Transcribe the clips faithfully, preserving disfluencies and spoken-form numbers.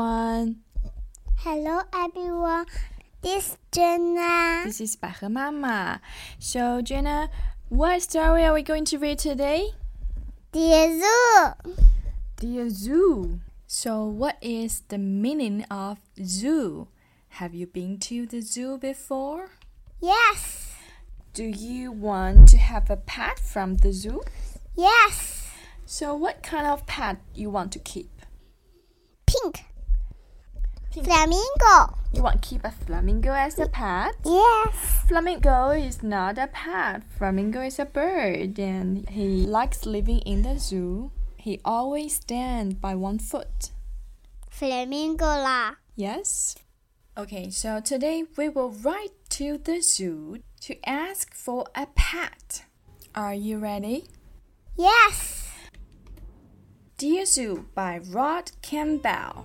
everyone. Hello everyone. This is Jenna. This is 百合妈妈. So Jenna, what story are we going to read today? Dear Zoo. Dear Zoo. So what is the meaning of zoo? Have you been to the zoo before? Yes. Do you want to have a pet from the zoo? Yes. So what kind of pet you want to keep? Pink. Pink. Flamingo. You want to keep a flamingo as a pet? Yes. Flamingo is not a pet. Flamingo is a bird and he likes living in the zoo. He always stands by one foot. Flamingo啦. Yes? Okay, so today we will write to the zoo to ask for a pet. Are you ready? Yes. Dear Zoo by Rod Campbell.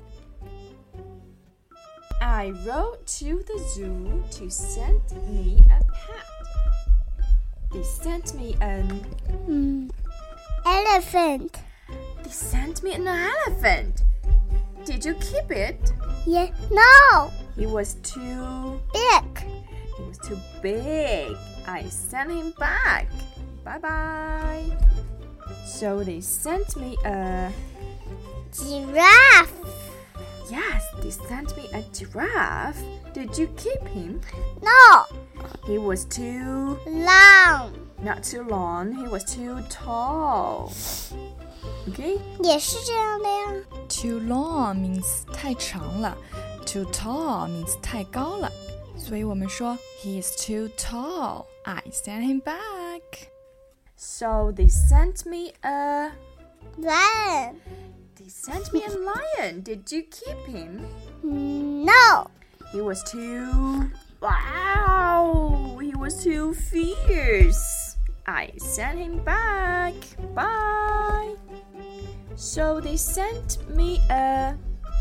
I wrote to the zoo to send me a pet. They sent me an... Mm. Elephant. They sent me an elephant. Did you keep it? Yeah. No. He was too... Big. He was too big. I sent him back. Bye-bye. So they sent me a... Giraffe. Yes, they sent me a giraffe. Did you keep him? No. He was too... Long. Not too long. He was too tall. Okay? 也是这样的呀。 Too long means 太长了。Too tall means 太高了。所以我们说 He is too tall. I sent him back. So they sent me a... Lion. They sent me a lion. Did you keep him? No. He was too... Wow! He was too fierce. I sent him back. Bye. So they sent me a...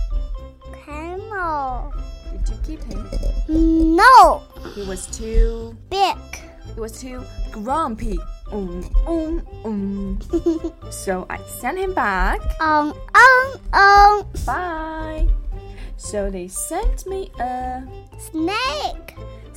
Camel. Did you keep him? No. He was too... Big. He was too grumpy. Um, um, um. So I sent him back. Um, um, um. Bye. So they sent me a... Snake.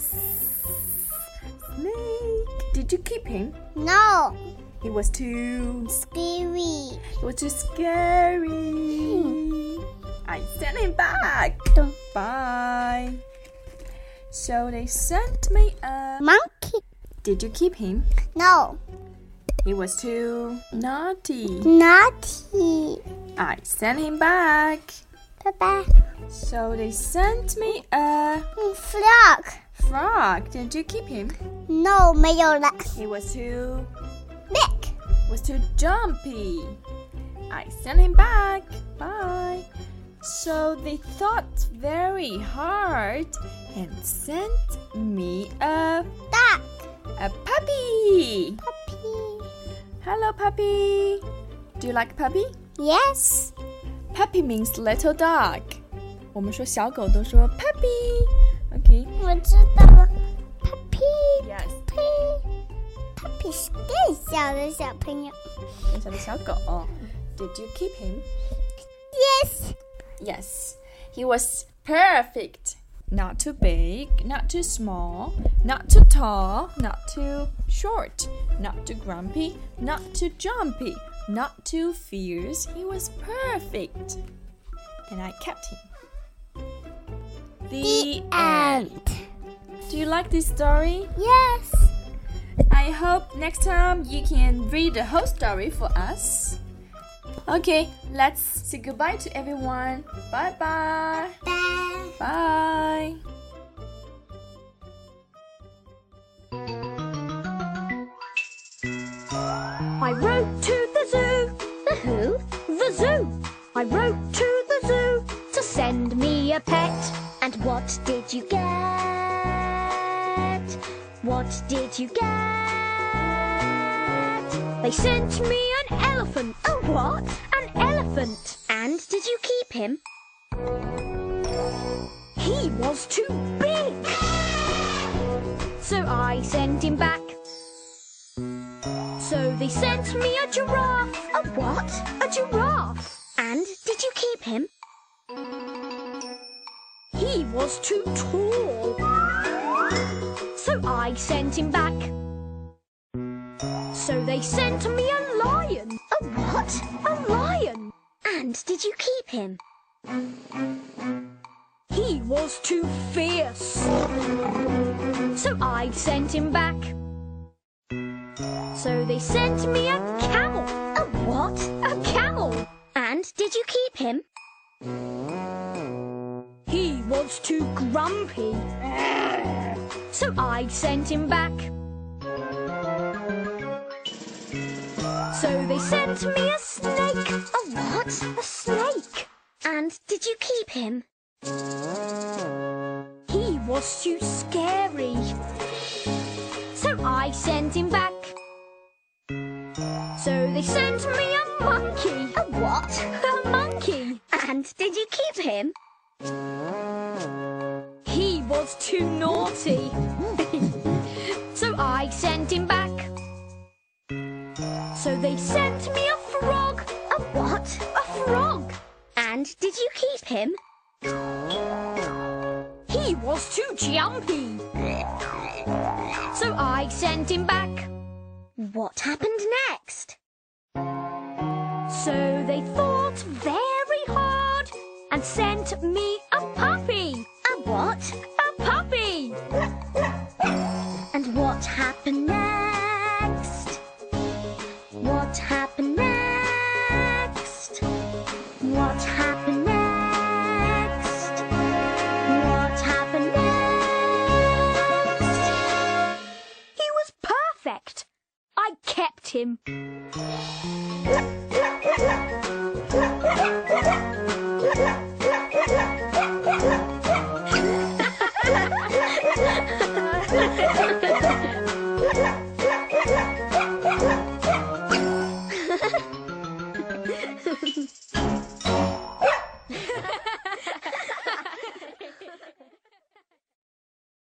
Snake. Did you keep him? No. He was too... Scary. He was too scary. I sent him back. Dum. Bye. So they sent me a... Monkey. Did you keep him? No. He was too naughty. Naughty. I sent him back. Bye-bye. So they sent me a Frog. frog. Did you keep him? No, 没有了。 He was too... Big. was too jumpy. I sent him back. Bye. So they thought very hard and sent me a Duck. a puppy. Puppy. Hello, puppy. Do you like puppy? Yes. Puppy means little dog. 我们说小狗都说 puppy. Okay. 我知道了。Puppy. Yes. Puppy. Puppy 是更小的小朋友。 更小的小狗。Did you keep him? Yes. Yes. He was perfect. Not too big, not too small, not too tall, not too short, not too grumpy, not too jumpy, not too fierce. He was perfect. And I kept him. The end. Do you like this story? Yes. I hope next time you can read the whole story for us. Okay, let's say goodbye to everyone. Bye-bye. Bye. Bye. I wrote to the zoo. The who? The zoo. I wrote to the zoo to send me a pet. And what did you get? What did you get? They sent me an elephant. A what? An elephant. And did you keep him? He was too big. So I sent him back. So they sent me a giraffe. A what? A giraffe. And did you keep him? was too tall. So I sent him back. So they sent me a lion. A what? A lion. And did you keep him? He was too fierce. So I sent him back. So they sent me a camel. A what? A camel. And did you keep him? He was too grumpy. So I sent him back. So they sent me a snake. A what? A snake. And did you keep him? He was too scary. So I sent him back. So they sent me a monkey. A what? A monkey. And did you keep him? He was too naughty. So I sent him back. So they sent me a frog. A what? A frog. And did you keep him? He was too jumpy. So I sent him back. What happened next? So they thought very hard and sent me a puppy. A what? A puppy. And what happened next? What happened next? What happened next? What happened next? He was perfect. I kept him. Ha ha ha!